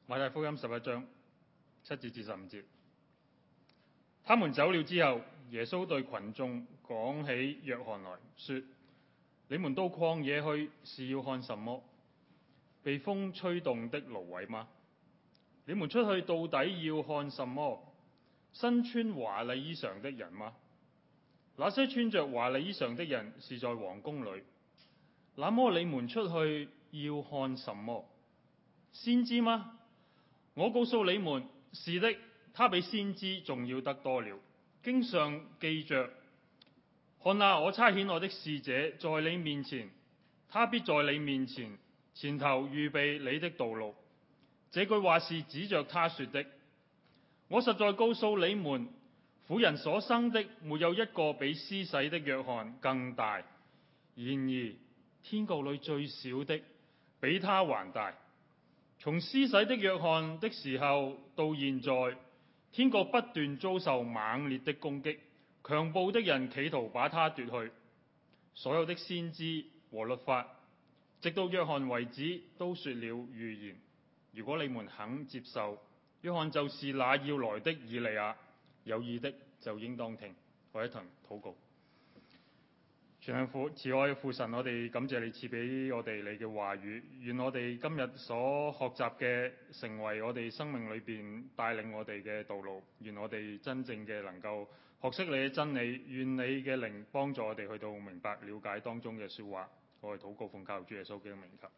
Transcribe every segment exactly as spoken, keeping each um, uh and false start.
馬太福音十一章七節至十五節。他們走了之後，耶穌對群眾講起約翰來說：你們到曠野去是要看什麼？被風吹動的蘆葦嗎？你們出去到底要看什麼？身穿華麗衣裳的人嗎？那些穿着華麗衣裳的人是在王宮裏。那麼你們出去要看什麼？先知嗎？我告訴你們，是的，他比先知仲要得多了。經上記着：看哪，我差遣我的使者在你面前，他必在你面前前頭預備你的道路。這句話是指着他說的。我實在告訴你們，婦人所生的沒有一個比施洗的約翰更大，然而天國裏最小的比他還大。從施洗的約翰的時候到現在，天國不斷遭受猛烈的攻擊，強暴的人企圖把他奪去。所有的先知和律法，直到約翰為止，都說了預言。如果你們肯接受，約翰就是那要來的以利亞。有意的就應當聽。我一同禱告。全能父慈愛嘅父神，我哋感謝你賜俾我哋你嘅話語，願我哋今日所學習嘅成為我哋生命裏邊帶領我哋嘅道路，願我哋真正嘅能夠學識你嘅真理，願你嘅靈幫助我哋去到明白了解當中嘅說話。我哋禱告奉靠主耶穌基督名求。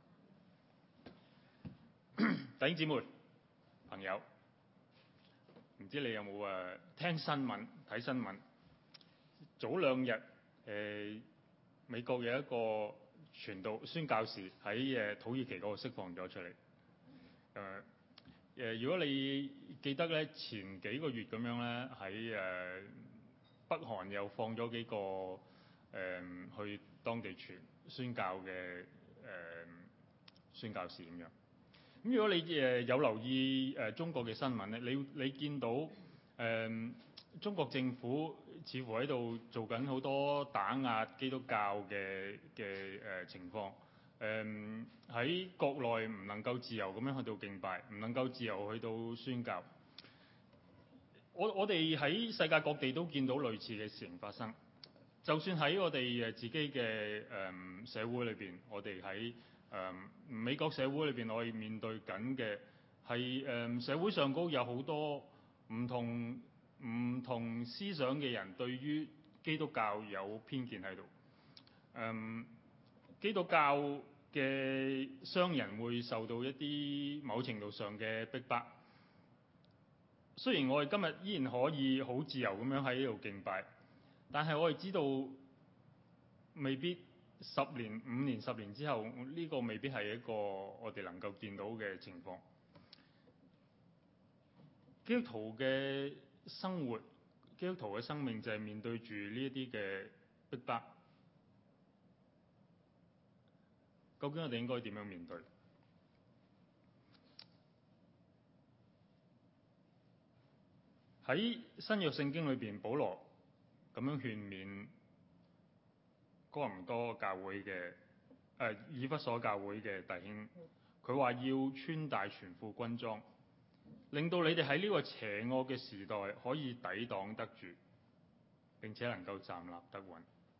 弟兄姊妹朋友，唔知你有冇誒聽新聞睇新聞？早兩日誒、呃、美國有一個傳道宣教士喺誒土耳其嗰度釋放咗出嚟。誒、呃、誒、呃，如果你記得咧，前幾個月咁樣咧，喺誒、呃、北韓又放咗幾個誒、呃、去當地傳宣教嘅誒、呃、宣教士咁樣。咁如果你誒有留意誒中國嘅新聞咧，你你見到誒、呃、中國政府似乎喺度做緊好多打壓基督教嘅嘅誒情況。誒、呃、喺國內唔能夠自由咁樣去到敬拜，唔能夠自由去到宣教。我我哋喺世界各地都見到類似嘅事情發生。就算喺我哋誒自己嘅誒、呃、社會裏邊，我哋喺誒、嗯、美國社會裏邊，我哋面對緊嘅係誒社會上高有好多唔同唔同思想嘅人對於基督教有偏見喺度。誒、嗯、基督教嘅商人會受到一啲某程度上嘅逼迫。雖然我哋今日依然可以好自由咁樣喺呢度敬拜，但係我哋知道未必十年、五年、十年之後，呢個未必係一個我哋能夠見到嘅情況。基督徒嘅生活、基督徒嘅生命就係面對住呢一啲嘅逼迫。究竟我哋應該點樣面對？喺新約聖經裏邊，保羅咁樣勸勉哥林多教會嘅誒、呃、以弗所教會嘅弟兄，佢話要穿戴全副軍裝，令到你哋喺呢個邪惡嘅時代可以抵擋得住，並且能夠站立得穩。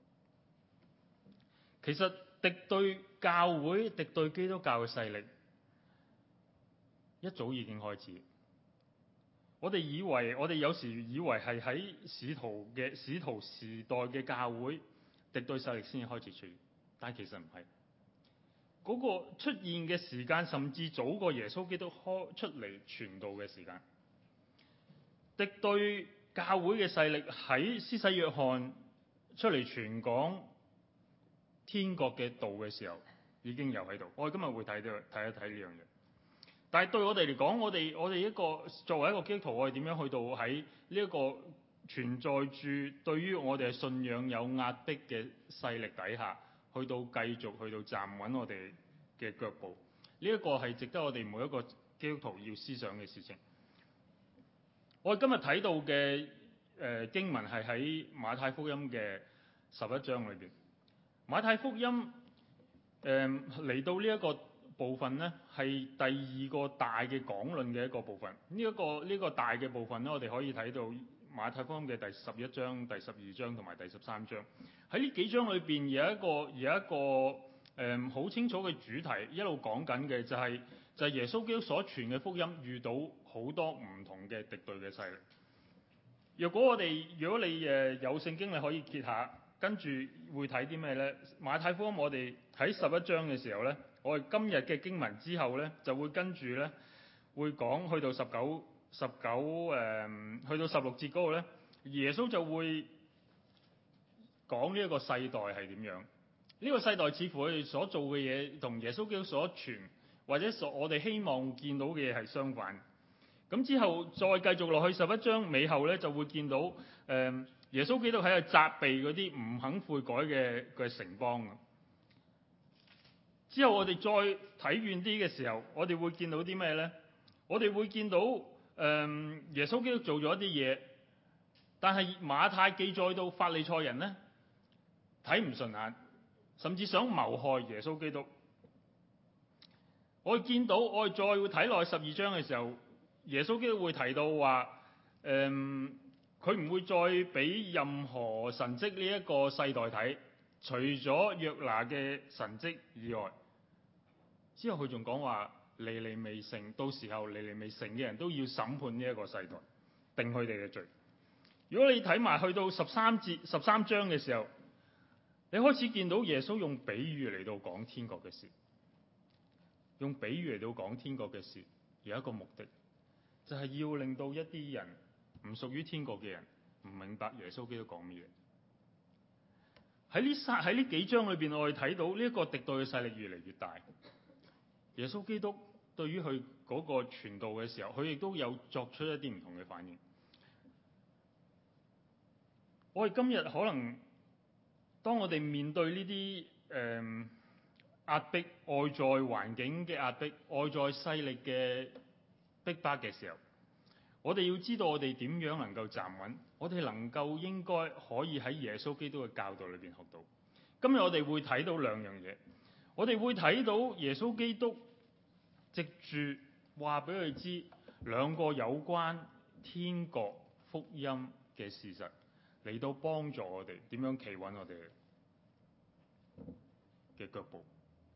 其實敵對教會、敵對基督教嘅勢力一早已經開始。我哋以為，我哋有時以為係喺使徒嘅使徒時代嘅教會敵對勢力先至開始出現，但其實唔係。嗰個出現嘅時間甚至早過耶穌基督開出嚟傳道嘅時間。敵對教會嘅勢力喺施洗約翰出嚟傳講天國嘅道嘅時候已經有喺度。我哋今日會睇到睇一睇呢樣嘢。但係對我哋嚟講，我哋我哋一個作為一個基督徒，我哋點樣去到喺呢一個存在住對於我哋嘅信仰有壓迫嘅勢力底下，去到繼續去到站穩我哋嘅腳步？呢、這、一個係值得我哋每一個基督徒要思想嘅事情。我哋今日睇到嘅誒、呃、經文係喺馬太福音嘅十一章裏邊。馬太福音誒嚟、呃、到呢一個部分呢，係第二個大嘅講論嘅一個部分。呢、這、一個呢、這個大嘅部分呢，我哋可以睇到馬太福音嘅第十一章、第十二章同埋第十三章。喺呢幾章裏邊有一個有一個誒好、呃、清楚嘅主題，一路講緊嘅就係、是、就係、是、耶穌基督所傳嘅福音遇到好多唔同嘅敵對嘅勢力。若果我哋如果你誒有聖經，你可以揭下，跟住會睇啲咩呢？馬太福音我哋喺十一章嘅時候呢，我哋今日嘅經文之後呢，就會跟住呢，會講去到十九十九誒，去到十六節嗰度呢，耶穌就會講呢一個世代係點樣。呢、這個世代似乎佢哋所做嘅嘢同耶穌基督所傳或者所我哋希望見到嘅嘢係相反。咁之後再繼續落去十一章尾後咧，就會見到誒、呃、耶穌基督喺度責備嗰啲唔肯悔改嘅嘅城邦。之後我哋再睇遠啲嘅時候，我哋會見到啲咩咧？我哋會見到誒、呃、耶穌基督做咗一啲嘢，但係馬太記載到法利賽人咧睇唔順眼，甚至想謀害耶穌基督。我哋見到我哋再會睇落去十二章嘅時候，耶穌基督會提到話，誒佢唔會再俾任何神蹟呢一個世代睇，除咗約拿嘅神蹟以外。之後佢仲講話，尼尼微城，到時候尼尼微城嘅人都要審判呢一個世代，定佢哋嘅罪。如果你睇埋去到十三節十三章嘅時候，你開始見到耶穌用比喻嚟到講天國嘅事，用比喻嚟到講天國嘅事，有一個目的，就係要令到一啲人唔屬於天國嘅人唔明白耶穌基督講乜嘢。喺呢三喺呢幾章裏邊，我哋睇到呢一個敵對嘅勢力越嚟越大。耶穌基督對於佢嗰個傳道嘅時候，佢亦都有作出一啲唔同嘅反應。我哋今日可能當我哋面對呢啲誒壓迫、外在環境嘅壓迫、外在勢力嘅逼迫嘅時候，我哋要知道我哋點樣能夠站穩，我哋能夠應該可以喺耶穌基督嘅教導裏邊學到。今日我哋會睇到兩樣嘢，我哋會睇到耶穌基督藉住話俾佢知兩個有關天國福音嘅事實，嚟到幫助我哋點樣企穩我哋嘅腳步。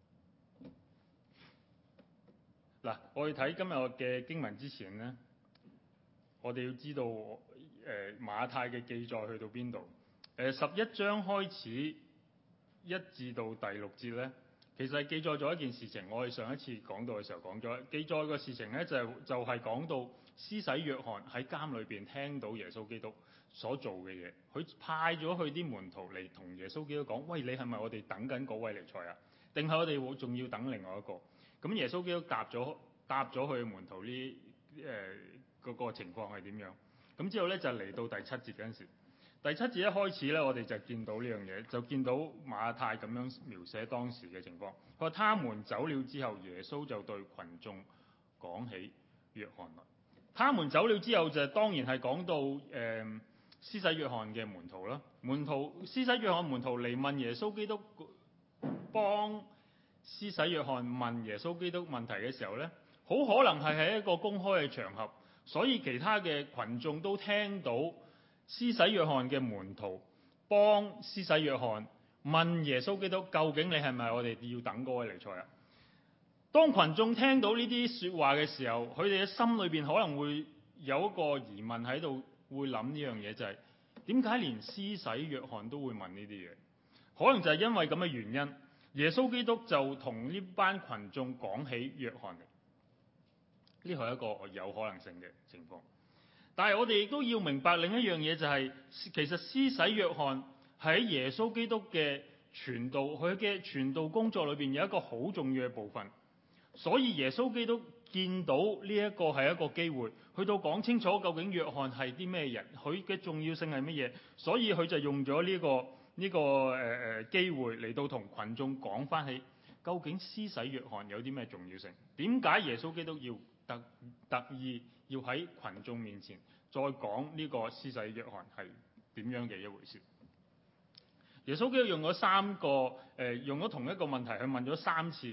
嗱，我哋睇今日嘅經文之前呢，我哋要知道誒、呃、馬太嘅記載去到邊度？誒、呃、十一章開始一至到第六節呢，其實係記載咗一件事情。我哋上一次講到嘅時候講咗，記載個事情呢，就係、就係、係、講到施洗約翰喺監裏邊聽到耶穌基督所做嘅嘢，佢派咗佢啲門徒嚟同耶穌基督講：喂，你係咪我哋等緊嗰位彌賽亞？定係我哋會仲要等另外一個？咁耶穌基督答咗答咗佢嘅門徒呢誒嗰個情況係點樣？咁之後咧就嚟到第七節嗰陣時，第七節一開始咧，我哋就見到呢樣嘢，就見到馬太咁樣描寫當時嘅情況。佢話：他們走了之後，耶穌就對群眾講起約翰來。他們走了之後就當然係講到誒施洗約翰嘅門徒啦。門徒施洗約翰門徒嚟問耶穌基督，幫施洗約翰問耶穌基督問題嘅時候呢，好可能係喺一個公開嘅場合，所以其他嘅群眾都聽到施洗約翰嘅門徒幫施洗約翰問耶穌基督：究竟你係咪我哋要等嗰位彌賽亞？當群眾聽到呢啲說話嘅時候，佢哋嘅心裏邊可能會有一個疑問喺度，會諗呢樣嘢，就係點解連施洗約翰都會問呢啲嘢？可能就係因為咁嘅原因。耶穌基督就同呢班群眾講起約翰嚟，呢個係一個有可能性嘅情況。但係我哋亦都要明白另一樣嘢，就係其實施洗約翰喺耶穌基督嘅傳道，佢嘅傳道工作裏邊有一個好重要嘅部分。所以耶穌基督見到呢一個係一個機會，去到講清楚究竟約翰係啲咩人，佢嘅重要性係乜嘢，所以佢就用咗呢個。呢、這個誒誒、呃、機會嚟到同群眾講翻起，究竟施洗約翰有啲咩重要性？點解耶穌基督要特特意要喺群眾面前再講呢個施洗約翰係點樣嘅一回事？耶穌基督用咗三個誒、呃，用咗同一個問題去問咗三次，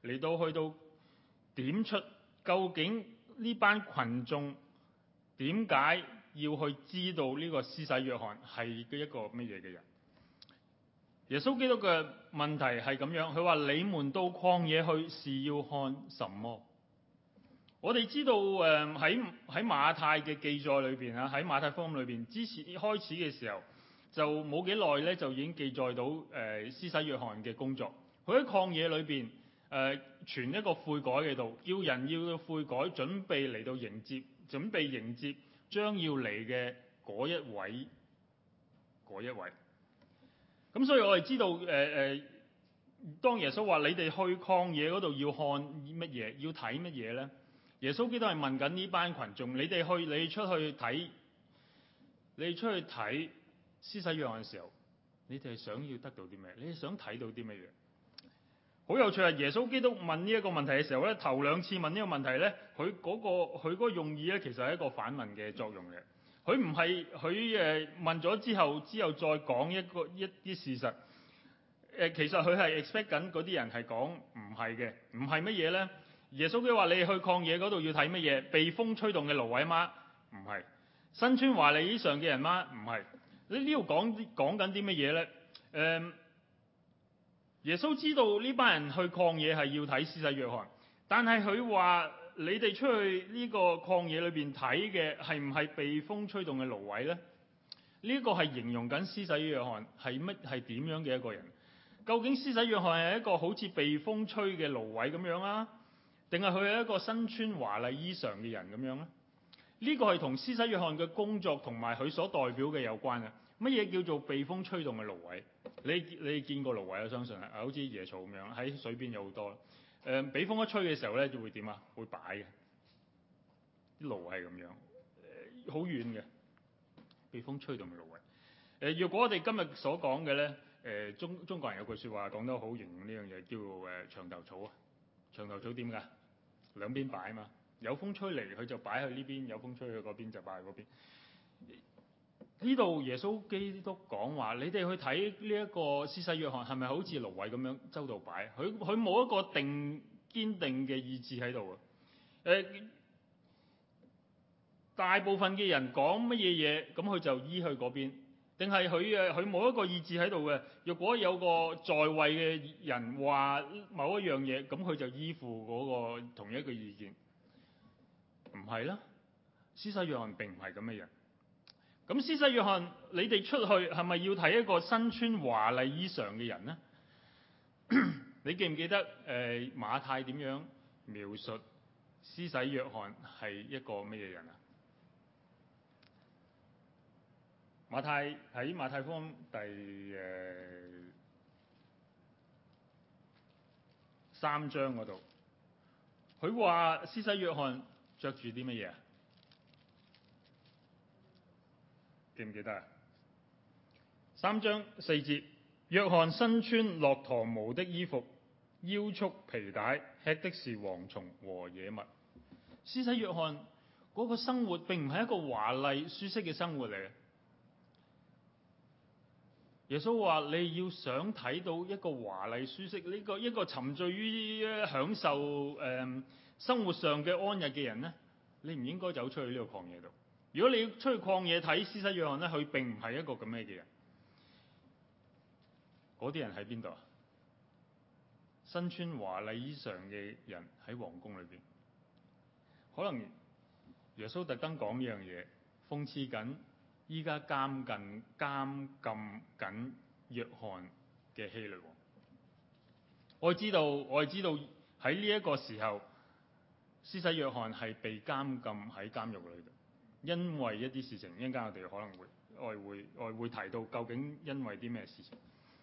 嚟到去到點出究竟呢班群眾點解要去知道呢個施洗約翰係嘅一個乜嘢嘅人。耶穌基督嘅問題係咁樣，佢話你們到曠野去是要看什麼？我哋知道誒喺喺馬太嘅記載裏邊啊，喺馬太福音裏邊之前開始嘅時候就冇幾耐咧，就已經記載到誒、呃、施洗約翰嘅工作。佢喺曠野裏邊誒傳一個悔改嘅道，叫人要悔改，準備嚟到迎接，準備迎接將要嚟嘅嗰一位嗰一位。咁所以我哋知道誒誒、呃，當耶穌話你哋去曠野嗰度要看乜嘢，要睇乜嘢咧？耶穌基督係問緊呢班群眾：你哋去，你出去睇，你出去睇施洗約翰嘅時候，你哋係想要得到啲咩？你哋想睇到啲乜嘢？好有趣啊！耶穌基督問呢一個問題嘅時候咧，頭兩次問呢個問題咧，佢嗰個佢嗰個用意咧，其實係一個反問嘅作用嘅。佢唔係佢誒問咗之後，之後再講一個一啲事實。誒，其實佢係 expect 緊嗰啲人係講唔係嘅，唔係乜嘢咧？耶穌基督話：你去曠野嗰度要睇乜嘢？被風吹動嘅蘆葦嗎？唔係。身穿華麗衣裳嘅人嗎？唔係。你呢度講講緊啲乜嘢咧？誒、嗯，耶穌知道呢班人去曠野係要睇施洗約翰，但係佢話。你哋出去呢個曠野裏邊睇嘅係唔係被風吹動嘅蘆葦呢？呢、這個係形容緊施洗約翰係乜係點樣嘅一個人？究竟施洗約翰係一個好似被風吹嘅蘆葦咁樣啊，定係佢係一個身穿華麗衣裳嘅人咁樣呢？呢、這個係同施洗約翰嘅工作同埋佢所代表嘅有關嘅。乜嘢叫做被風吹動嘅蘆葦？你你見過蘆葦我相信啊，好似椰草咁樣喺水邊有好多。誒、呃，俾風一吹嘅時候咧，就會點啊？會擺嘅，啲蘆係咁樣，好、呃、遠嘅，被風吹動嘅蘆葦。誒、呃，若果我哋今日所講嘅咧，誒、呃，中中國人有句説話講得好形容呢樣嘢，叫做誒、呃、牆頭草啊。牆頭草點㗎？兩邊擺啊嘛，有風吹嚟佢就擺去呢邊，有風吹去嗰邊就擺去嗰邊。呢度耶穌基督講話：你哋去睇呢一個施洗約翰係咪好似蘆葦咁樣周到擺？佢佢冇一個定堅定嘅意志喺度啊！誒、呃，大部分嘅人講乜嘢嘢，咁佢就依去嗰邊，定係佢誒佢冇一個意志喺度嘅？若果有個在位嘅人話某一樣嘢，咁佢就依附嗰個同一個意見，唔係啦。施洗約翰並唔係咁嘅人。咁施洗約翰，你哋出去係咪要睇一個身穿華麗衣裳嘅人呢？你記唔記得誒、呃、馬太點樣描述施洗約翰係一個乜嘢人啊？馬太喺馬太福音第誒、呃、三章嗰度，佢話施洗約翰着住啲乜嘢啊？記唔記得啊？三章四節，約翰身穿駱駝毛的衣服，腰束皮帶，吃的是蝗蟲和野蜜。施洗約翰嗰個生活並唔係一個華麗舒適嘅生活嚟嘅。耶穌話：你要想睇到一個華麗舒適呢、這個一個沉醉於享受誒、呃、生活上嘅安逸嘅人呢，你唔應該走出去呢個曠野度。如果你要出去曠野睇施洗約翰咧，佢並唔係一個咁樣嘅人。嗰啲人喺邊度啊？身穿華麗衣裳嘅人喺皇宮裏邊。可能耶穌特登講呢樣嘢，諷刺緊依家監禁監禁緊約翰嘅希律王。我知道，我係知道喺呢一個時候，施洗約翰係被監禁喺監獄裏邊。因為一啲事情，一陣間我哋可能會我會我會提到究竟因為啲咩事情。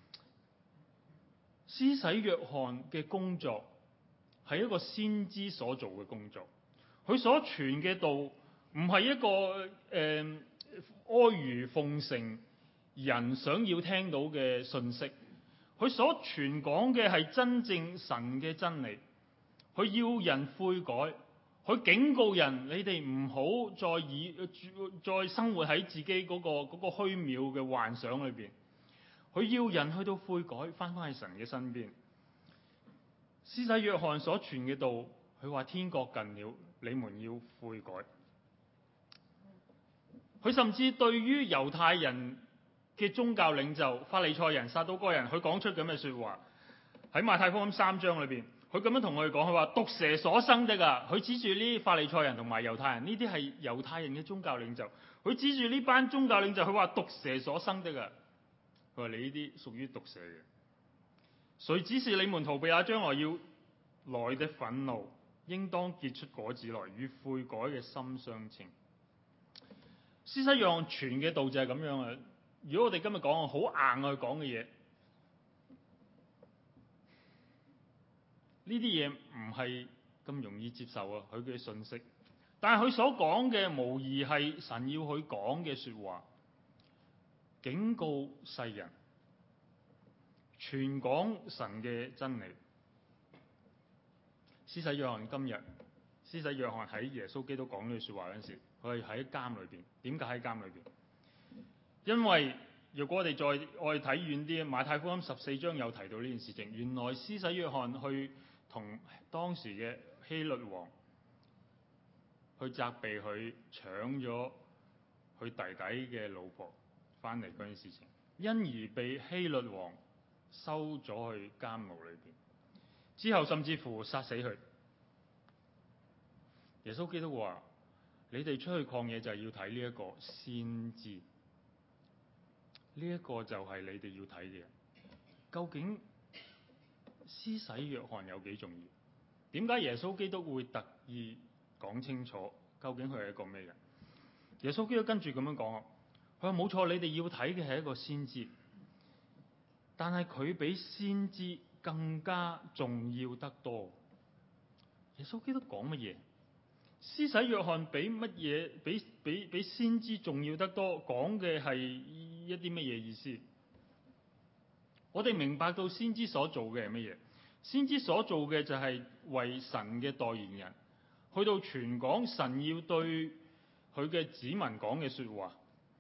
施洗約翰嘅工作係一個先知所做嘅工作，佢所傳嘅道唔係一個誒、呃、阿諛奉承人想要聽到嘅信息，佢所傳講嘅係真正神嘅真理，佢要人悔改。佢警告人：你哋唔好再以再生活喺自己嗰個嗰個虛渺嘅幻想裏邊。佢要人去到悔改，翻返去神嘅身邊。 施洗約翰所傳嘅道，佢話天國近了，你們要悔改。佢甚至對於猶太人嘅宗教領袖法利賽人、撒都該人，佢講出咁嘅說話。喺馬太福音三章裏邊，佢咁樣同我哋講，佢話毒蛇所生的啊，佢指住呢啲法利賽人同埋猶太人，呢啲係猶太人嘅宗教領袖。佢指住呢班宗教領袖，佢話毒蛇所生的啊，佢話你呢啲屬於毒蛇嘅。誰指示你們逃避那將來要來的憤怒，應當結出果子來，與悔改嘅心相稱。施洗約翰傳嘅道就係咁樣啊！如果我哋今日講好硬去講嘅嘢，呢啲嘢唔係咁容易接受啊！佢嘅信息，但係佢所講嘅無疑係神要佢講嘅說話，警告世人，傳講神嘅真理。施洗約翰今日，施洗約翰喺耶穌基督講呢句說話嗰陣時，佢係喺監裏邊。點解喺監裏邊？因為如果我哋再我哋睇遠啲，馬太福音十四章有提到呢件事情。原來施洗約翰去同當時嘅希律王去責備佢搶咗佢弟弟嘅老婆翻嚟嗰件事情，因而被希律王收咗去監牢裏邊，之後甚至乎殺死佢。耶穌基督話：你哋出去曠野就係要睇呢一個先知，呢一個就係你哋要睇嘅。究竟施洗約翰有幾重要？點解耶穌基督會特意講清楚究竟佢係一個咩人？耶穌基督跟住咁樣講，佢話冇錯，你哋要睇嘅係一個先知，但係佢比先知更加重要得多。耶穌基督講乜嘢？施洗約翰比乜嘢？比比比先知重要得多，講嘅係一啲乜嘢意思？我哋明白到先知所做嘅係乜嘢？先知所做嘅就係為神嘅代言人，去到傳講神要對佢嘅子民講嘅說話。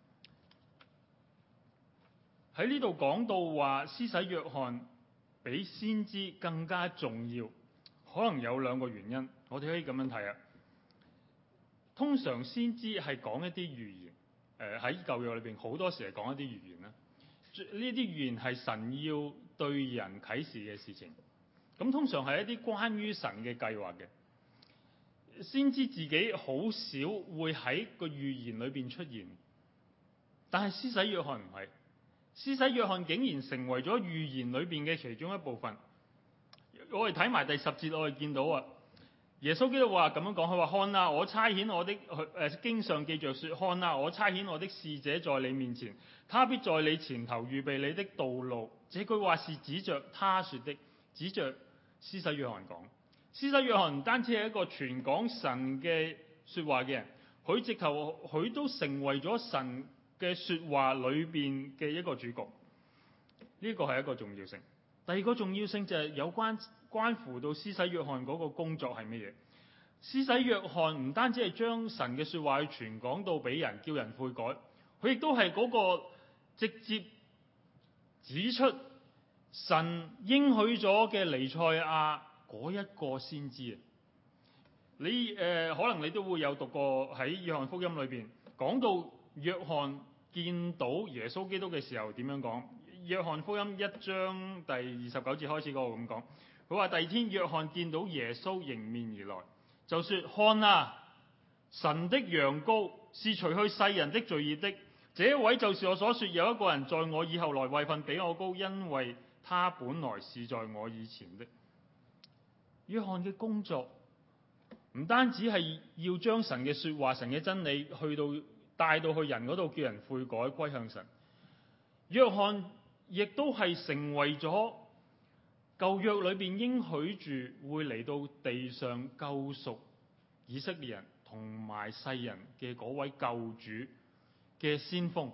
喺呢度講到話施洗約翰比先知更加重要，可能有兩個原因，我哋可以咁樣睇啊。通常先知係講一啲預言，誒喺舊約裏邊好多時係講一啲預言啦。呢啲預言係神要對人啟示嘅事情，咁通常係一啲關於神嘅計劃嘅。先知自己好少會喺個預言裏邊出現，但係施洗約翰唔係，施洗約翰竟然成為咗預言裏邊嘅其中一部分。我哋睇埋第十節，我哋見到啊。耶穌基督話咁樣講，佢話看啊，我差遣我的誒經上記着說，看啊，我差遣我的使者在你面前，他必在你前頭預備你的道路。這句話是指着他說的，指着施洗約翰講。施洗約翰唔單止係一個傳講神嘅說話嘅人，佢直頭佢都成為咗神嘅說話裏邊嘅一個主角。呢個係一個重要性。第二個重要性就係有關關乎到施洗約翰嗰個工作係乜嘢？施洗約翰唔單止係將神嘅說話去傳講到俾人，叫人悔改，佢亦都係嗰個直接指出神應許咗嘅彌賽亞嗰一個先知啊！你誒、呃、可能你都會有讀過喺約翰福音裏邊講到約翰見到耶穌基督嘅時候點樣講？約翰福音一章第二十九節開始嗰個咁講，佢話第二天約翰見到耶穌迎面而來，就說：看啊，神的羊羔，是除去世人的罪孽的。這一位就是我所說有一個人在我以後來，位份比我高，因為他本來是在我以前的。約翰嘅工作唔單止係要將神嘅說話、神嘅真理去到帶到去人嗰度，叫人悔改歸向神。約翰亦都係成為咗舊約裏邊應許住會嚟到地上救贖以色列人同埋世人嘅嗰位救主嘅先鋒。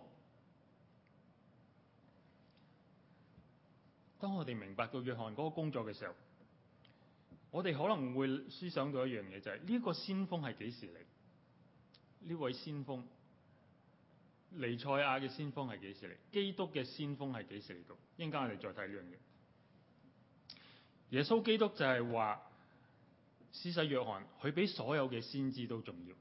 當我哋明白到約翰嗰個工作嘅時候，我哋可能會思想到一樣嘢，就係呢個先鋒係幾時嚟？呢位先鋒彌賽亞嘅先鋒係幾時嚟？基督嘅先鋒係幾時嚟到？一陣間我哋再睇呢樣嘢。 耶穌基督就係話，施洗約翰佢比所有嘅先知都重要，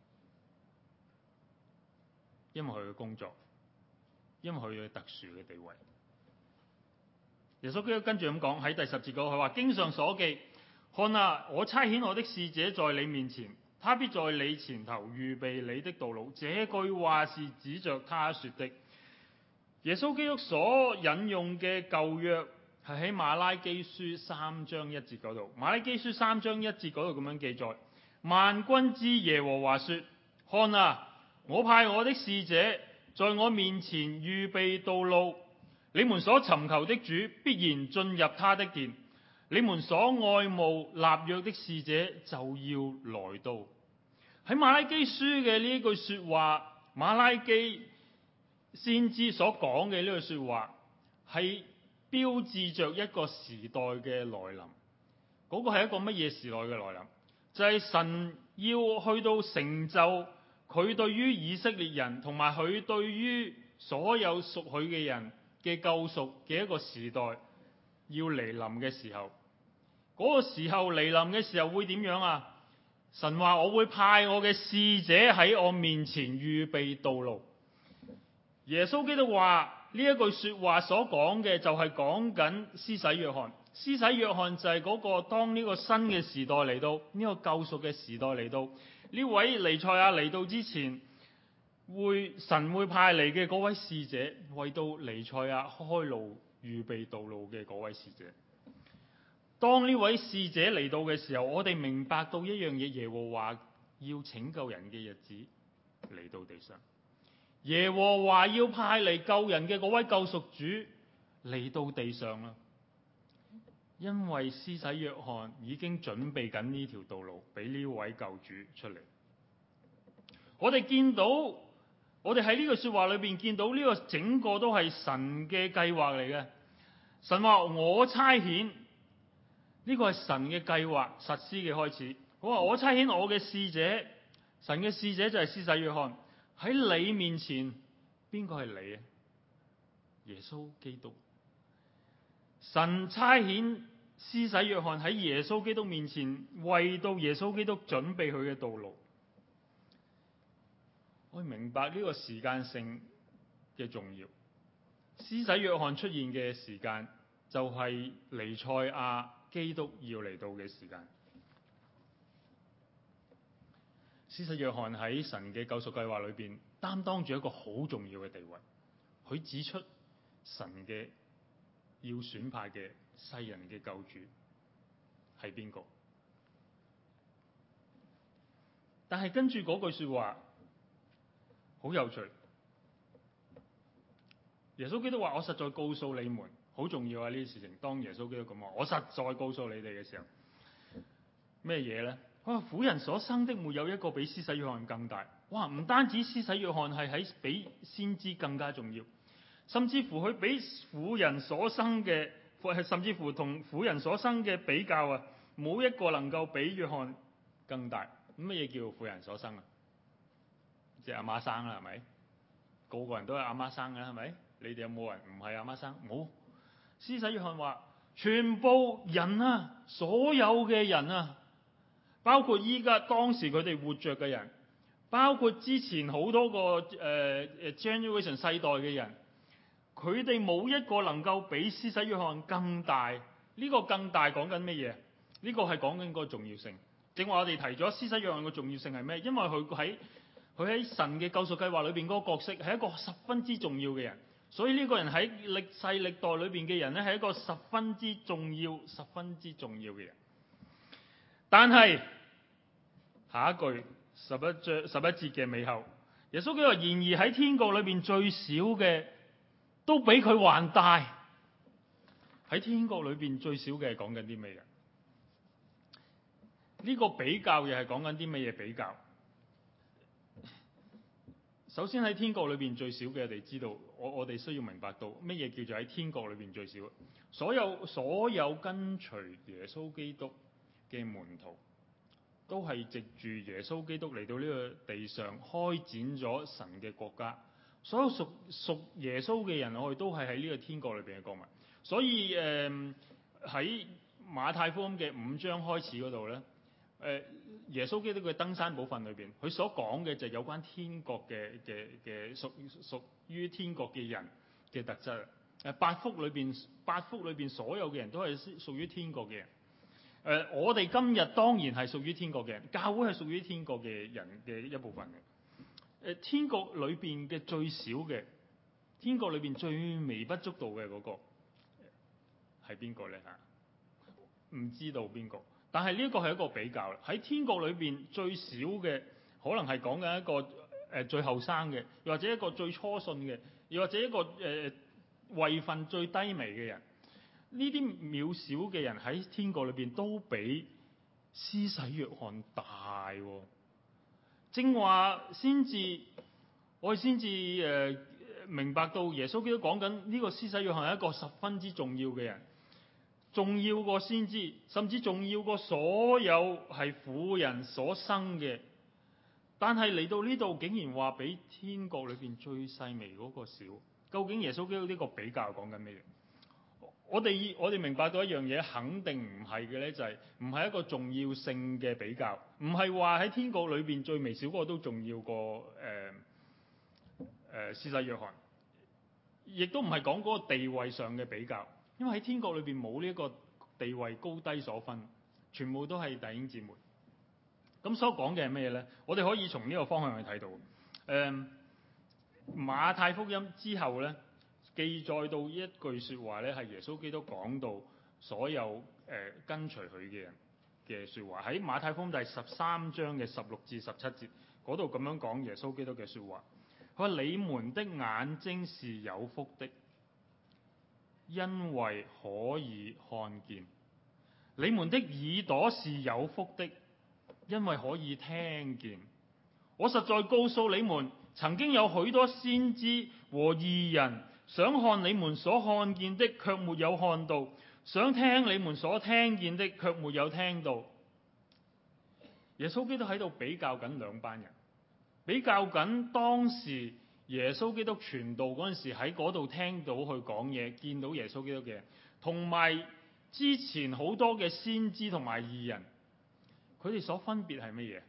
因為佢嘅工作，因為佢嘅特殊嘅地位。耶穌基督跟住咁講喺第十節嗰，佢話：經上所記，看啊，我差遣我的使者在你面前，他必在你前頭預備你的道路。這句話是指着他說的。耶穌基督所引用嘅舊約係喺馬拉基書三章一節嗰度。馬拉基書三章一節嗰度咁樣記載：萬軍之耶和華說，看啊，我派我的使者在我面前預備道路，你們所尋求的主必然進入他的殿，你們所愛慕立約的使者就要來到。喺馬拉基書嘅呢句說話，馬拉基先知所講嘅呢句說話係標誌着一個時代嘅來臨。嗰個係一個乜嘢時代嘅來臨？就係神要去到成就佢對於以色列人同埋佢對於所有屬佢嘅人嘅救贖嘅一個時代要嚟臨嘅時候，嗰個時候嚟臨嘅時候會點樣啊？神話我會派我嘅使者喺我面前預備道路。耶穌基督話呢一句說話所講嘅就係講緊施洗約翰。施洗約翰就係嗰個當呢個新嘅時代嚟到，呢個救贖嘅時代嚟到，呢位彌賽亞嚟到之前，會神會派嚟嘅嗰位使者，為到彌賽亞開路預備道路嘅嗰位使者。當呢位使者嚟到嘅時候，我哋明白到一樣嘢，耶和華要拯救人嘅日子嚟到地上。耶和華要派嚟救人嘅嗰位救贖主嚟到地上啦。因為施洗約翰已經準備緊呢條道路俾呢位救主出嚟。我哋見到，我哋喺呢句說話裏邊見到呢個整個都係神嘅計劃嚟嘅。神話我差遣，呢個係神嘅計劃實施嘅開始。我話我差遣我嘅使者，神嘅使者就係施洗約翰喺你面前。邊個係你啊？耶穌基督。神差遣施洗約翰喺耶穌基督面前，為到耶穌基督準備佢嘅道路。我明白呢個時間性嘅重要。施洗約翰出現嘅時間就係彌賽亞基督要嚟到嘅時間。施洗約翰喺神嘅救贖計劃裏邊擔當住一個好重要嘅地位。佢指出神嘅要選派嘅世人嘅救主係邊個？但係跟住嗰句說話好有趣。耶穌基督話：我實在告訴你們，好重要啊！呢啲事情，當耶穌基督咁話，我實在告訴你哋嘅時候，咩嘢呢？哇！婦人所生的沒有一個比施洗約翰更大。哇！唔單止施洗約翰係喺比先知更加重要，甚至乎佢比婦人所生嘅，甚至乎同婦人所生嘅比較啊，冇一個能夠比約翰更大。咁乜嘢叫婦人所生啊？即係阿媽生啦，係咪？個個人都係阿媽生㗎啦，係咪？你哋有冇人唔係阿媽生？冇。施洗約翰話：全部人啊，所有嘅人啊，包括依家當時佢哋活着嘅人，包括之前好多個誒誒、呃、generation 世代嘅人，佢哋冇一個能夠比施洗約翰更大。呢、這個更大講緊乜嘢？呢、這個係講緊個重要性。正話我哋提咗施洗約翰嘅重要性係咩？因為佢喺佢喺神嘅救贖計劃裏邊嗰個角色係一個十分之重要嘅人，所以呢個人喺歷世歷代裏邊嘅人咧係一個十分之重要、十分之重要嘅人。但係下一句十一章十一節嘅尾後，耶穌基督話：然而喺天國裏邊最小嘅都比佢還大。喺天國裏邊最小嘅係講緊啲咩嘢？呢個比較又係講緊啲乜嘢比較？首先喺天國裏邊最少嘅，我哋知道，我我哋需要明白到乜嘢叫做喺天國裏邊最少。所有所有跟隨耶穌基督嘅門徒，都係藉住耶穌基督嚟到呢個地上開展咗神嘅國家。所有屬屬耶穌嘅人，我哋都係喺呢個天國裏邊嘅國民。所以誒喺馬太福音嘅五章開始嗰度咧，誒耶穌基督嘅登山寶訓裏邊，佢所講嘅就係有關天國嘅嘅嘅屬屬於天國嘅人嘅特質。誒八福裏邊八福裏邊所有嘅人都係屬於天國嘅人。誒、呃、我哋今日當然係屬於天國嘅人，教會係屬於天國嘅人嘅一部分嘅。誒、呃、天國裏邊嘅最少嘅，天國裏邊最微不足道嘅嗰、那個係邊個咧嚇？唔知道邊個，但係呢一個係一個比較啦。喺天國裏邊最少嘅，可能係講緊一個誒、呃、最後生嘅，又或者一個最初信嘅，又或者一個誒、呃、位份最低微嘅人。呢啲渺小嘅人喺天國裏邊都比施洗約翰大、哦。正話先至，我哋先至誒明白到耶穌基督講緊呢個施洗約翰係一個十分之重要嘅人。重要過先知，甚至重要過所有係婦人所生嘅。但係嚟到呢度，竟然話比天國裏邊最細微嗰個少。究竟耶穌基督呢個比較講緊咩嘢？我哋我哋明白到一樣嘢，肯定唔係嘅呢，就係唔係一個重要性嘅比較，唔係話喺天國裏邊最微小嗰個都重要過誒誒施洗約翰，亦都唔係講嗰個地位上嘅比較。因為喺天國裏邊冇呢一個地位高低所分，全部都係弟兄姊妹。咁所講嘅係咩呢？我哋可以從呢個方向去睇到。誒、嗯，馬太福音之後呢，記載到一句說話呢，係耶穌基督講到所有誒、呃、跟隨佢嘅人嘅說話。喺馬太福音第十三章嘅十六至十七節嗰度咁樣講耶穌基督嘅說話。佢話：你們的眼睛是有福的，因為可以看見；你們的耳朵是有福的，因為可以聽見。我實在告訴你們，曾經有許多先知和義人想看你們所看見的，卻沒有看到；想聽你們所聽見的，卻沒有聽到。耶穌基督喺度比較緊兩班人，比較緊當時耶穌基督傳道嗰陣時喺嗰度聽到佢講嘢，見到耶穌基督嘅人，同埋之前好多嘅先知同埋義人，佢哋所分別係乜嘢？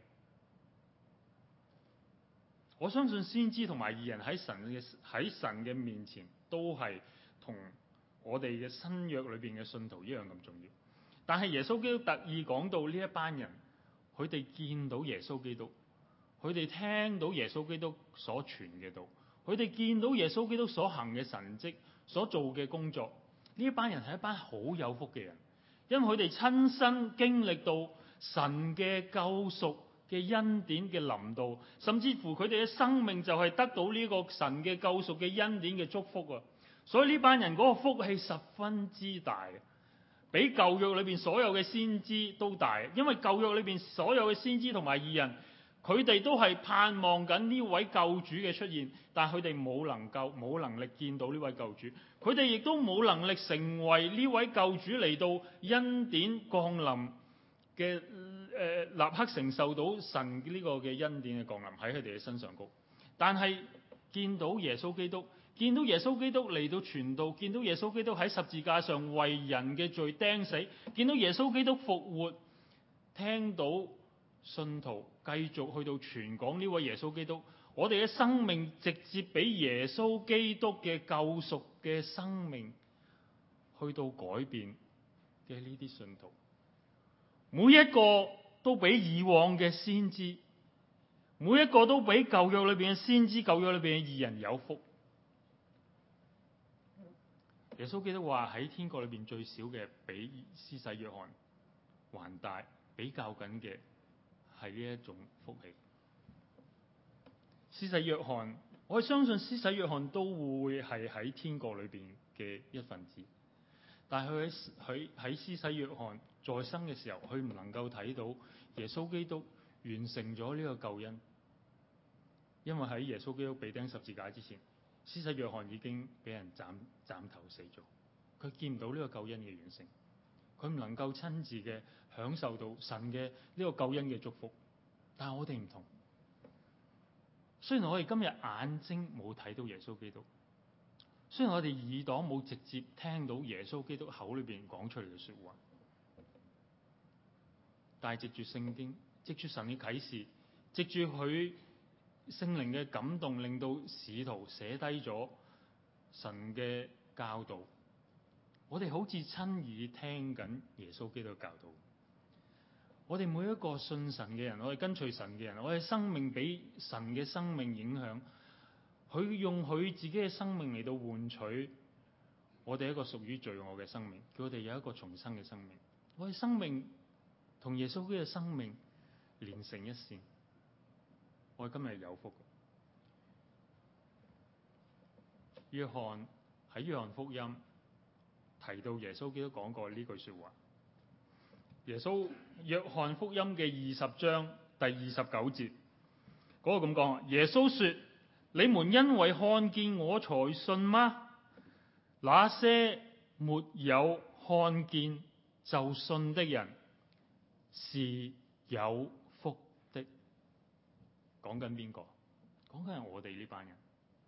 我相信先知同埋義人喺神嘅喺神嘅面前都係同我哋嘅新約裏邊嘅信徒一樣咁重要。但係耶穌基督特意講到呢一班人，佢哋見到耶穌基督。佢哋聽到耶穌基督所傳嘅道，佢哋見到耶穌基督所行嘅神蹟，所做嘅工作，呢一班人係一班好有福嘅人，因為佢哋親身經歷到神嘅救贖嘅恩典嘅臨到，甚至乎佢哋嘅生命就係得到呢個神嘅救贖嘅恩典嘅祝福啊！所以呢班人嗰個福氣十分之大，比舊約裏邊所有嘅先知都大，因為舊約裏邊所有嘅先知同埋義人，佢哋都係盼望緊呢位救主嘅出現，但係佢哋冇能夠冇能力見到呢位救主，佢哋亦都冇能力成為呢位救主嚟到恩典降臨嘅誒立刻承受到神呢個嘅恩典嘅降臨喺佢哋嘅身上高。但係見到耶穌基督，見到耶穌基督嚟到傳道，見到耶穌基督喺十字架上為人嘅罪釘死，見到耶穌基督復活，聽到信徒繼續去到傳講呢位耶穌基督，我哋嘅生命直接俾耶穌基督嘅救贖嘅生命去到改變嘅呢啲信徒，每一個都比以往嘅先知，每一個都比舊約裏邊嘅先知、舊約裏邊嘅義人有福。耶穌基督話喺天國裏邊最少嘅比施洗約翰還大，比較緊嘅係呢一種福氣。施洗約翰，我相信施洗約翰都會係喺天國裏邊嘅一份子，但係佢喺喺施洗約翰在生嘅時候，佢唔能夠睇到耶穌基督完成咗呢個救恩，因為喺耶穌基督被釘十字架之前，施洗約翰已經俾人斬斬頭死咗，佢見唔到呢個救恩嘅完成，佢唔能夠親自嘅享受到神嘅呢個救恩嘅祝福。但係我哋唔同，雖然我哋今日眼睛冇睇到耶穌基督，雖然我哋耳朵冇直接聽到耶穌基督口裏邊講出嚟嘅說話， 但係藉住聖經，藉住神嘅啟示，藉住佢聖靈嘅感動，令到使徒寫低咗神嘅教導。我哋好似親耳聽緊耶穌基督嘅教導。我哋每一個信神嘅人，我哋跟隨神嘅人，我哋生命俾神嘅生命影響，佢用佢自己嘅生命嚟到換取我哋一個屬於罪惡嘅生命，叫我哋有一個重生嘅生命。我哋生命同耶穌基督嘅生命連成一線，我哋今日係有福嘅。約翰喺約翰福音提到耶穌基督講過呢句說話。耶穌約翰福音嘅二十章第二十九節嗰個咁講：耶穌說，你們因為看見我才信嗎？那些沒有看見就信的人是有福的。講緊邊個？講緊係我哋呢班人。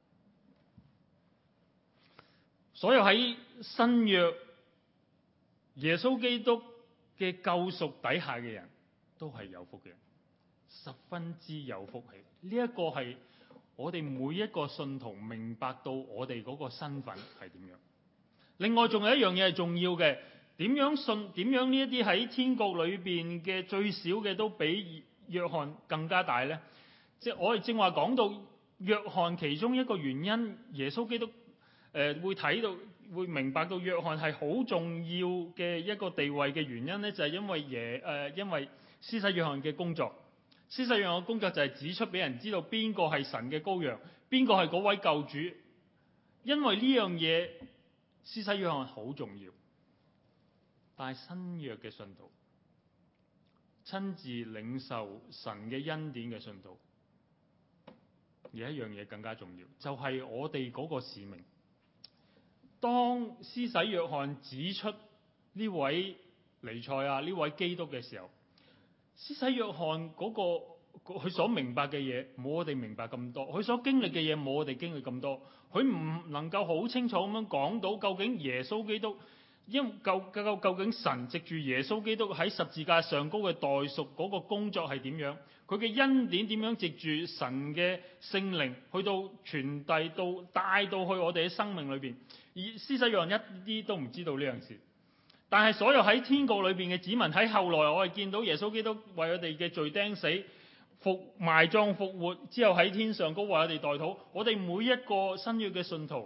所有喺新約耶穌基督嘅救贖底下嘅人都係有福嘅人，十分之有福氣。呢一個係我哋每一個信徒明白到我哋嗰個身份係點樣。另外仲有一樣嘢係重要嘅，點樣信？點樣呢一啲喺天國裏邊嘅最少嘅都比約翰更加大呢？即係我哋正話講到約翰其中一個原因，耶穌基督誒、呃、會睇到。會明白到約翰係好重要嘅一個地位嘅原因呢，就係、是、因為耶誒、呃，因為施洗約翰嘅工作。施洗約翰嘅工作就係指出俾人知道邊個係神嘅羔羊，邊個係嗰位救主。因為呢樣嘢，施洗約翰好重要。但係新約嘅信徒，親自領受神嘅恩典嘅信徒，有一樣嘢更加重要，就係、是、我哋嗰個使命。當施洗約翰指出呢位彌賽亞呢位基督嘅時候，施洗約翰嗰個佢所明白嘅嘢冇我哋明白咁多，佢所經歷嘅嘢冇我哋經歷咁多，佢唔能夠好清楚咁樣講到究竟耶穌基督因究究究竟神藉住耶穌基督喺十字架上高嘅代贖嗰個工作係點樣，佢嘅恩典點樣藉住神嘅聖靈去到傳遞到帶到去我哋嘅生命裏邊。而施洗約翰一啲都唔知道呢樣事，但係所有喺天國裏邊嘅子民，喺後來我哋見到耶穌基督為我哋嘅罪釘死、復埋葬、復活之後喺天上高為我哋代禱。我哋每一個新約嘅信徒、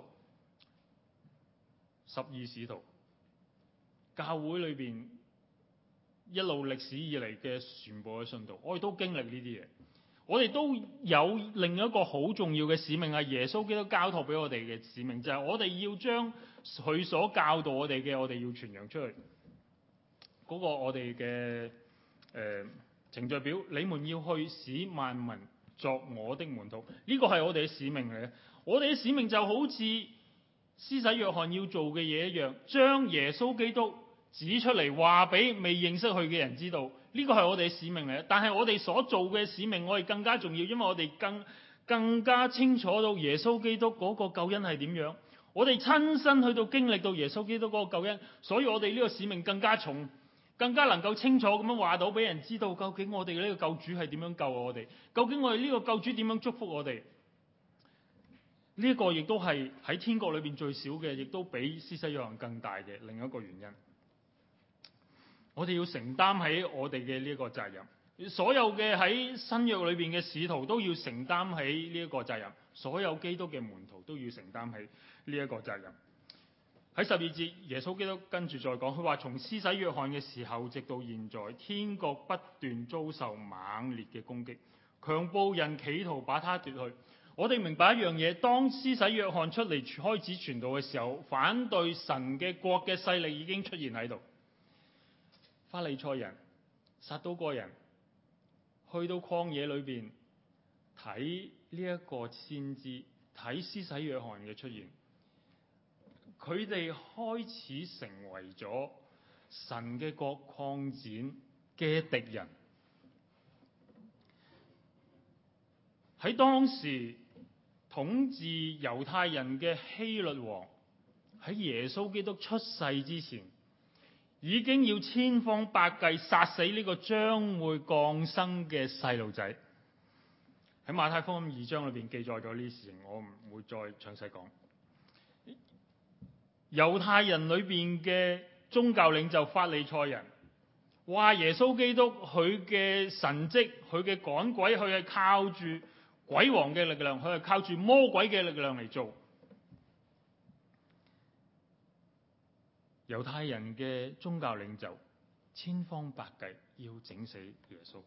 十二使徒、教會裏邊一路歷史以嚟嘅全部嘅信徒，我哋都經歷呢啲嘢。我哋都有另一個好重要嘅使命，係耶穌基督交託俾我哋嘅使命，就係、是、我哋要將佢所教導我哋嘅，我哋要傳揚出去。嗰、那個我哋嘅誒程序表，你們要去使萬民作我的門徒，呢、這個係我哋嘅使命嚟嘅。我哋嘅使命就好似施洗約翰要做嘅嘢一樣，將耶穌基督指出嚟，話俾未認識佢嘅人知道。呢個係我哋嘅使命嚟，但係我哋所做嘅使命，我哋更加重要，因為我哋更更加清楚到耶穌基督嗰個救恩係點樣。我哋親身去到經歷到耶穌基督嗰個救恩，所以我哋呢個使命更加重，更加能夠清楚咁樣話到俾人知道，究竟我哋呢個救主係點樣救我哋，究竟我哋呢個救主點樣祝福我哋。呢、這、一個亦都係喺天國裏邊最少嘅，亦都比施洗約翰更大嘅另一個原因。我哋要承擔起我哋嘅呢一個責任，所有嘅喺新約裏邊嘅使徒都要承擔起呢一個責任，所有基督嘅門徒都要承擔起呢一個責任。喺十二節，耶穌基督跟住再講，佢話從施洗約翰嘅時候直到現在，天國不斷遭受猛烈嘅攻擊，強暴人企圖把他奪去。我哋明白一樣嘢，當施洗約翰出嚟開始傳道嘅時候，反對神嘅國嘅勢力已經出現喺度。法利賽人、撒都該人去到曠野裏邊睇呢一個先知，睇施洗約翰嘅出現，佢哋開始成為咗神嘅國擴展嘅敵人。喺當時統治猶太人嘅希律王喺耶穌基督出世之前， 已經要千方百計殺死呢個將會降生嘅細路仔。喺馬太福音二章裏邊記載咗呢啲事情，我唔會再詳細講。猶太人裏邊嘅宗教領袖法利賽人話耶穌基督佢嘅神蹟，佢嘅趕鬼，佢係靠住鬼王嘅力量，佢係靠住魔鬼嘅力量嚟做。猶太人嘅宗教領袖千方百計要整死耶穌。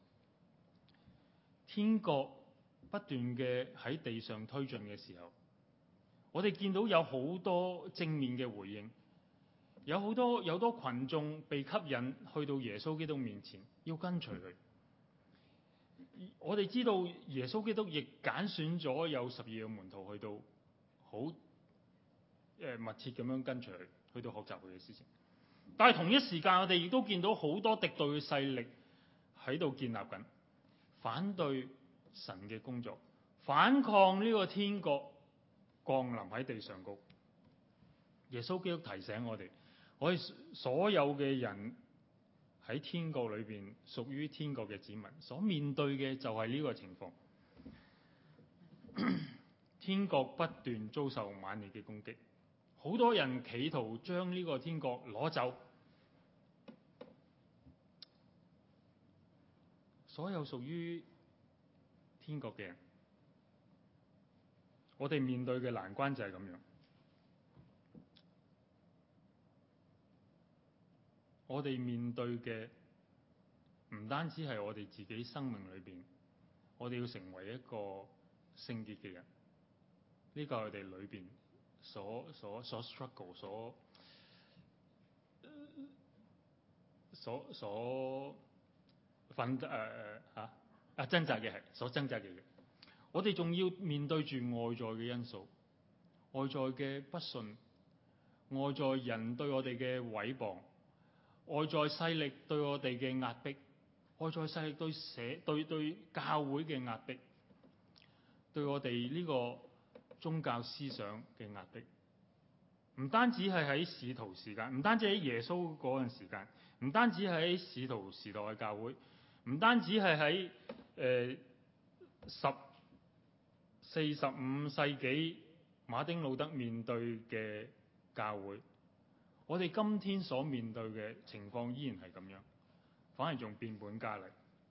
天國不斷嘅喺地上推進嘅時候，我哋見到有好多正面嘅回應，有好多有多群眾被吸引去到耶穌基督面前，要跟隨佢。我哋知道耶穌基督亦揀選咗有十二個門徒去到好誒密切咁樣跟隨佢，去到學習佢嘅事情。但係同一時間，我哋亦都見到好多敵對嘅勢力喺度建立緊，反對神嘅工作，反抗呢個天國降臨喺地上高。耶穌基督提醒我哋，我哋所有嘅人喺天國裏邊屬於天國嘅子民，所面對嘅就係呢個情況。天國不斷遭受猛烈嘅攻擊，好多人企圖將呢個天國攞走。所有屬於天國嘅人，我哋面對嘅難關就係咁樣。我哋面對嘅唔單止係我哋自己生命裏邊，我哋要成為一個聖潔嘅人，呢個係我哋裏邊所所所 struggle 所所所奮誒誒嚇啊掙扎嘅係所掙扎嘅嘢。我哋仲要面對住外在嘅因素，外在嘅不信，外在人對我哋嘅毀謗，外在勢力對我哋嘅壓迫，外在勢力對社對對教會嘅壓迫，對我哋呢個宗教思想嘅壓迫。唔單止係喺使徒時間，唔單止喺耶穌嗰陣時間，唔單止喺使徒時代嘅教會，唔單止係喺誒十四十五世紀馬丁路德面對嘅教會，我哋今天所面對嘅情況依然係咁樣，反而仲變本加厲。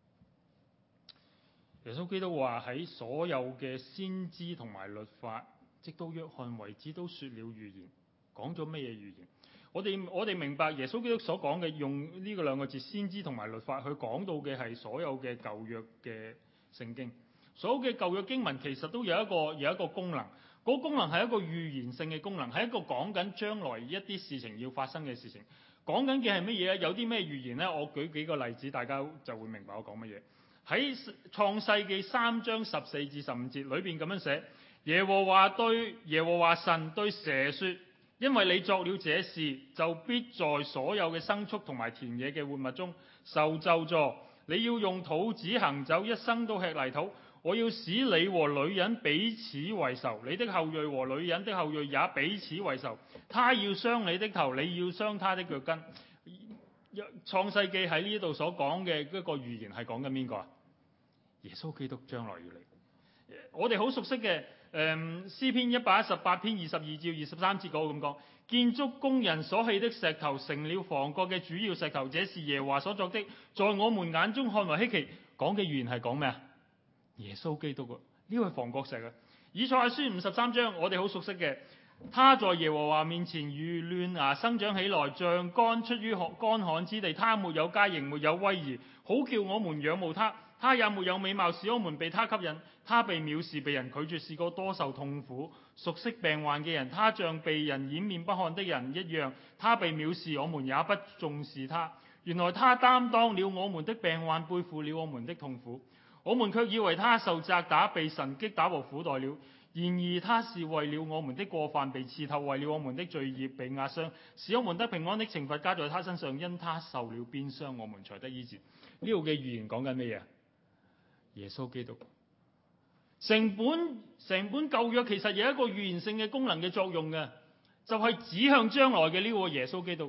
耶穌基督話喺所有嘅先知同埋律法，直到約翰為止都說了預言。講咗咩嘢預言？我哋我哋明白耶穌基督所講嘅，用呢個兩個字先知同埋律法，去講到嘅係所有嘅舊約嘅聖經。所有嘅舊約經文其實都有一個有一個功能，嗰個功能係一個預言性嘅功能，係一個講緊將來一啲事情要發生嘅事情。講緊嘅係乜嘢咧？有啲咩預言呢？我舉幾個例子，大家就會明白我講乜嘢。喺創世記三章十四至十五節裏邊咁樣寫：耶和華對耶和華神對蛇說，因為你作了這事，就必在所有嘅牲畜同埋田野嘅活物中受咒詛。你要用肚子行走，一生都吃泥土。我要使你和女人彼此為仇，你的後裔和女人的後裔也彼此為仇。他要傷你的頭，你要傷他的腳跟。創世記喺呢度所講嘅一個預言係講緊邊個啊？耶穌基督將來要嚟。我哋好熟悉嘅。誒、嗯、詩篇一百一十八篇二十二至二十三節嗰個咁講，建築工人所棄的石頭成了房角嘅主要石頭，這是耶和華所作的，在我們眼中看為稀奇。講嘅預言係講咩啊？耶穌基督啊，呢個係房角石啊。以賽亞書五十三章，我哋好熟悉嘅，他在耶和華面前如嫩芽生長起來，像乾出於乾旱之地，他沒有佳形，沒有威儀，好叫我們仰慕他。他也沒有美貌，使我們被他吸引。他被藐視，被人拒絕，是個多受痛苦、熟悉病患嘅人。他像被人掩面不看的人一樣。他被藐視，我們也不重視他。原來他擔當了我們的病患，背負了我們的痛苦。我們卻以為他受責打，被神擊打和苦待了。然而他是為了我們的過犯被刺透，為了我們的罪孽被壓傷，使我們得平安的懲罰加在他身上。因他受了鞭傷，我們才得醫治。呢度嘅預言講緊咩嘢？耶穌基督。成本成本舊約其實有一個預言性嘅功能嘅作用嘅，就係、是、指向將來嘅呢個耶穌基督。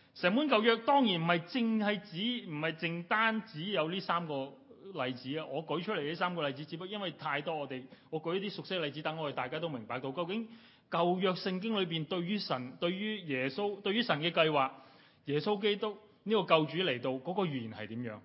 成本舊約當然唔係淨係指，唔係淨單止有呢三個例子啊！我舉出嚟呢三個例子，只不過因為太多，我哋我舉一啲熟悉嘅例子，等我哋大家都明白到究竟舊約聖經裏邊對於神、對於耶穌、對於神嘅計劃，耶穌基督呢個救主嚟到嗰個預言係點樣？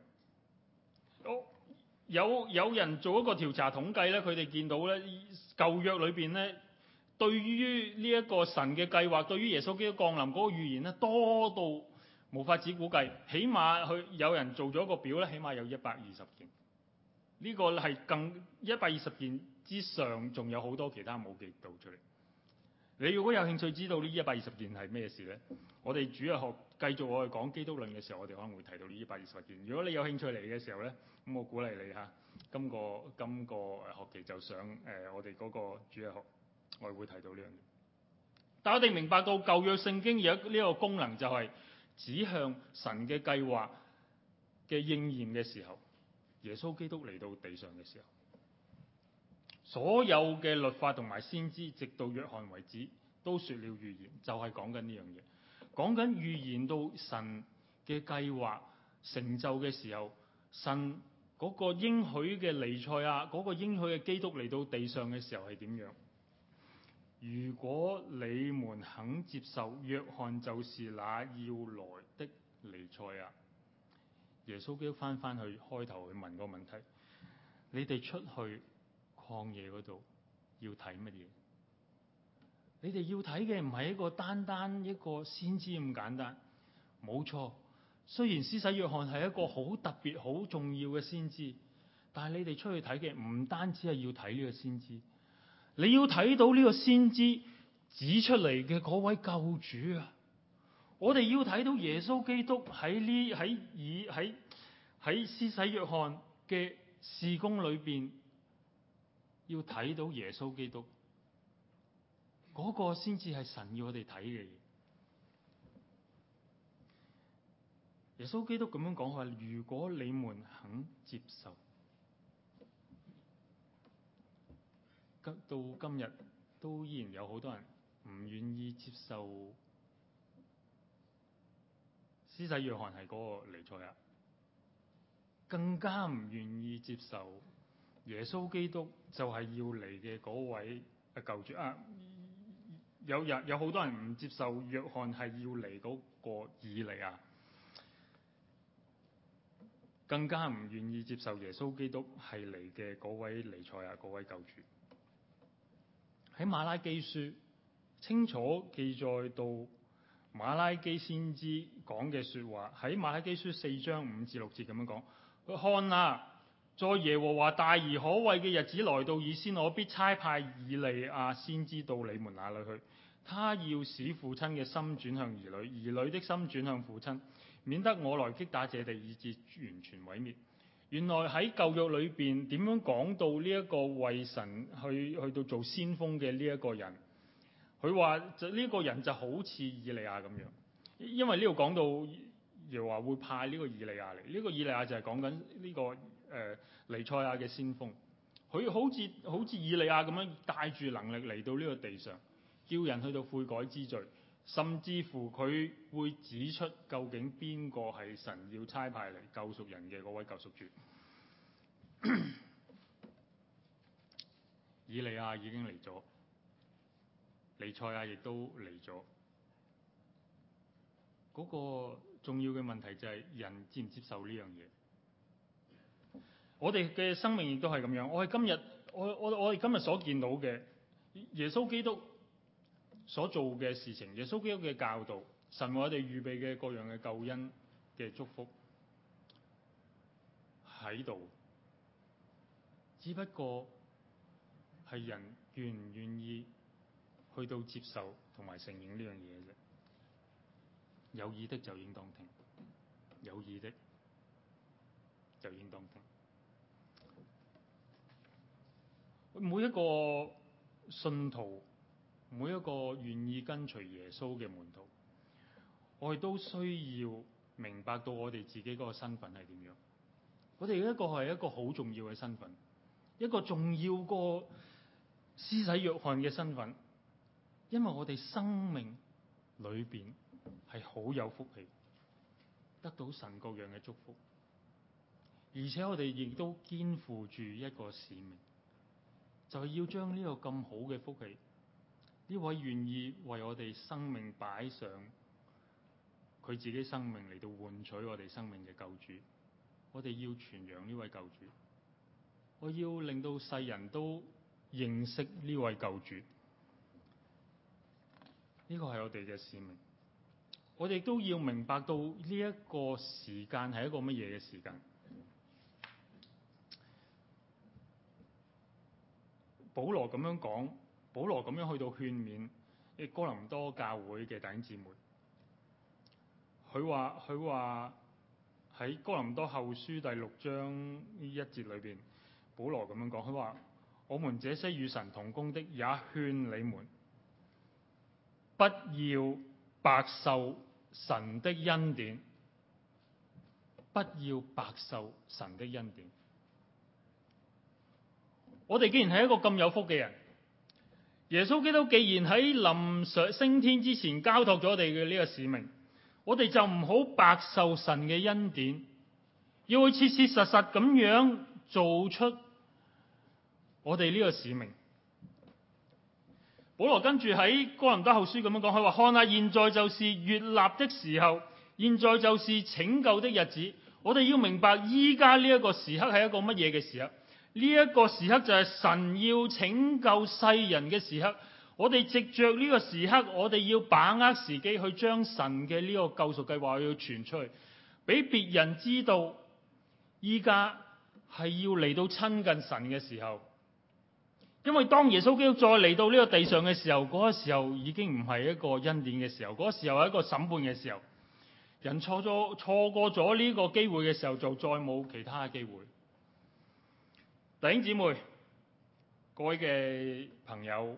有有人做一個調查統計咧，佢哋見到咧舊約裏邊咧，對於呢一個神嘅計劃，對於耶穌基督降臨嗰個預言咧，多到無法子估計。起碼佢有人做咗一個表咧，起碼有一百二十件。呢個係更一百二十件之上，仲有好多其他冇記到出嚟。你如果有興趣知道呢一百二十件係咩事咧，我哋主日學繼續我哋講基督論嘅時候，我哋可能會提到呢一百二十件。如果你有興趣嚟嘅時候咧，咁我鼓勵你嚇，今個今個學期就上誒、呃、我哋嗰個主日學，我哋會提到呢樣嘢。但我哋明白到舊約聖經有呢個功能，就係指向神嘅計劃嘅應驗嘅時候，耶穌基督嚟到地上嘅時候，所有嘅律法同埋先知，直到約翰為止，都說了預言，就係講緊呢樣嘢，講緊預言到神嘅計劃成就嘅時候，神嗰個應許嘅彌賽亞，嗰個應許嘅基督嚟到地上嘅時候係點樣？如果你們肯接受，約翰就是那要來的彌賽亞。耶穌基督翻翻去開頭去問個問題：你哋出去曠野嗰度要睇乜嘢？你哋要睇嘅唔係一個單單一個先知咁簡單。冇錯，雖然施洗約翰係一個好特別好重要嘅先知，但係你哋出去睇嘅唔單止係要睇呢個先知，你要睇到呢個先知指出嚟嘅嗰位救主啊！我哋要睇到耶穌基督喺呢喺以喺喺施洗約翰嘅事工裏邊，要睇到耶穌基督嗰個先至係神要我哋睇嘅嘢。耶穌基督咁樣講話：如果你們肯接受，到今日都依然有好多人唔願意接受施洗約翰係嗰個彌賽亞，更加唔願意接受耶穌基督就係要嚟嘅嗰位啊救主啊！有人有好多人唔接受約翰係要嚟嗰個以利亞，更加唔願意接受耶穌基督係嚟嘅嗰位彌賽亞，嗰位救主。喺馬拉基書清楚記載到馬拉基先知講嘅說話，喺馬拉基書四章五至六節咁樣講：佢看啊，在耶和華大而可畏嘅日子來到以先，我必差派以利亞先知到你們那裏去，他要使父親嘅心轉向兒女，兒女的心轉向父親，免得我來擊打這地以致完全毀滅。原來喺舊約裏邊點樣講到呢一個為神去去到做先鋒嘅呢一個人？佢話就呢個人就好似以利亞咁樣，因為呢度講到又話會派呢個以利亞嚟，呢、這個以利亞就係講緊呢個誒彌賽亞嘅先鋒。佢好似好似以利亞咁樣帶住能力嚟到呢個地上，叫人去到悔改之罪，甚至乎佢會指出究竟邊個係神要差派嚟救贖人嘅嗰位救贖主。以利亞已經嚟咗，彌賽亞亦都嚟咗。嗰、那個重要嘅問題就係人接唔接受呢樣嘢。我哋嘅生命亦都係咁樣。我係今日，我我我哋今日所見到嘅耶穌基督所做嘅事情，耶穌基督嘅教導，神為我哋預備嘅各樣嘅救恩嘅祝福喺度，只不過係人願唔願意去到接受同埋承認呢樣嘢啫。有耳的就應當聽，有耳的就應當聽。每一個信徒，每一個願意跟隨耶穌嘅門徒，我哋都需要明白到我哋自己嗰個身份係點樣。我哋一個係一個好重要嘅身份，一個重要過施洗約翰嘅身份，因為我哋生命裏邊係好有福氣， 得到神各樣嘅祝福，而且我哋亦都肩負住一個使命，就係要將呢個咁好嘅福氣，呢位願意為我哋生命擺上佢自己生命嚟到換取我哋生命嘅救主，我哋要傳揚呢位救主，我要令到世人都認識呢位救主，呢個係我哋嘅使命。我哋都要明白到呢一個時間係一個乜嘢嘅時間。保羅咁樣講，保羅咁樣去到勸勉哥林多教會嘅弟兄姊妹。佢話佢話喺哥林多後書第六章呢一節裏邊，保羅咁樣講，佢話：我們這些與神同工的，也勸你們不要白受神的恩典，不要白受神的恩典。我哋既然係一個咁有福嘅人，耶穌基督既然喺臨上升天之前交託咗我哋嘅呢個使命，我哋就唔好白受神嘅恩典，要去切切實實咁樣做出我哋呢個使命。保羅跟住喺哥林多後書咁樣講，佢話：看下現在就是悅納的時候，現在就是拯救的日子。我哋要明白依家呢一個時刻係一個乜嘢嘅時刻？呢、這、一個時刻就係神要拯救世人嘅時刻。我哋藉着呢個時刻，我哋要把握時機去將神嘅呢個救贖計劃要傳出去，俾別人知道依家係要嚟到親近神嘅時候。因為當耶穌基督再嚟到呢個地上嘅時候，嗰、那個時候已經唔係一個恩典嘅時候，嗰、那個時候係一個審判嘅時候。人錯咗錯過咗呢個機會嘅時候，就再冇其他嘅機會。弟兄姊妹，各位嘅朋友，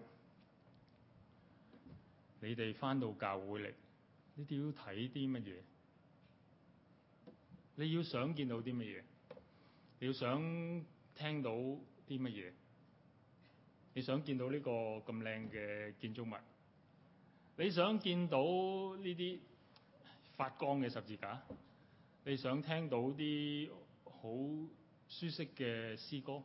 你哋返到教會嚟，你哋要睇啲乜嘢？你要想見到啲乜嘢？你要想聽到啲乜嘢？你想見到呢個咁靚嘅建築物？你想見到呢啲發光嘅十字架？你想聽到啲好舒適嘅詩歌？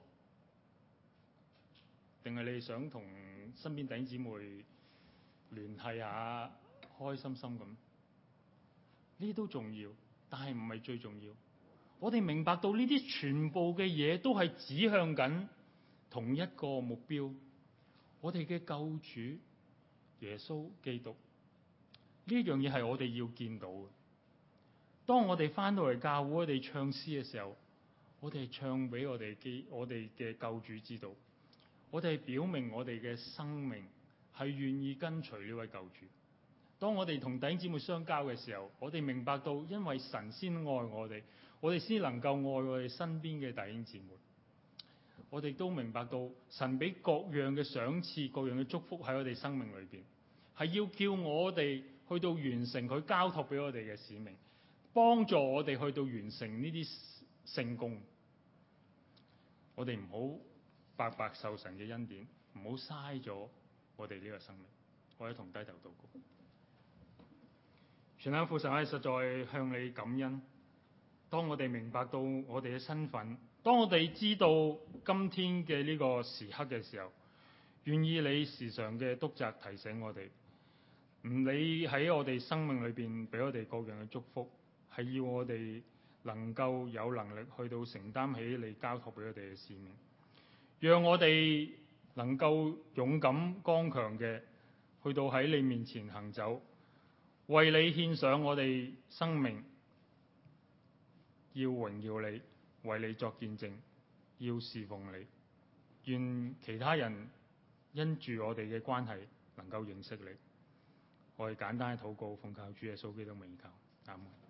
定係你想同身邊弟兄姊妹聯繫下，開心心咁？呢啲都重要，但係唔係最重要。我哋明白到呢啲全部嘅嘢都係指向緊同一個目標，我哋嘅救主耶穌基督。呢樣嘢係我哋要見到嘅。當我哋翻到嚟教會，我哋唱詩嘅時候，我哋唱俾我哋基我哋嘅救主知道，我哋表明我哋嘅生命係願意跟隨呢位救主。當我哋同弟兄姊妹相交嘅時候，我哋明白到，因為神先愛我哋，我哋先能夠愛我哋身邊嘅弟兄姊妹。我哋都明白到，神俾各樣嘅賞賜、各樣嘅祝福喺我哋生命裏邊，係要叫我哋去到完成佢交託俾我哋嘅使命，幫助我哋去到完成呢啲聖工。我哋唔好白白受神嘅恩典，唔好嘥咗我哋呢個生命。我哋同低頭禱告。全能父神，我哋實在向你感恩。當我哋明白到我哋嘅身份，當我哋知道今天嘅呢個時刻嘅時候，願意你時常嘅督責提醒我哋，唔理喺我哋生命裏邊俾我哋各樣嘅祝福，係要我哋能夠有能力去到承擔起你交託俾我哋嘅使命，讓我哋能夠勇敢剛強嘅去到喺你面前行走，為你獻上我哋生命，要榮耀你，為你作見證，要侍奉你。願其他人因住我哋嘅關係能夠認識你。我哋簡單嘅禱告，奉靠主耶穌基督名求，阿門。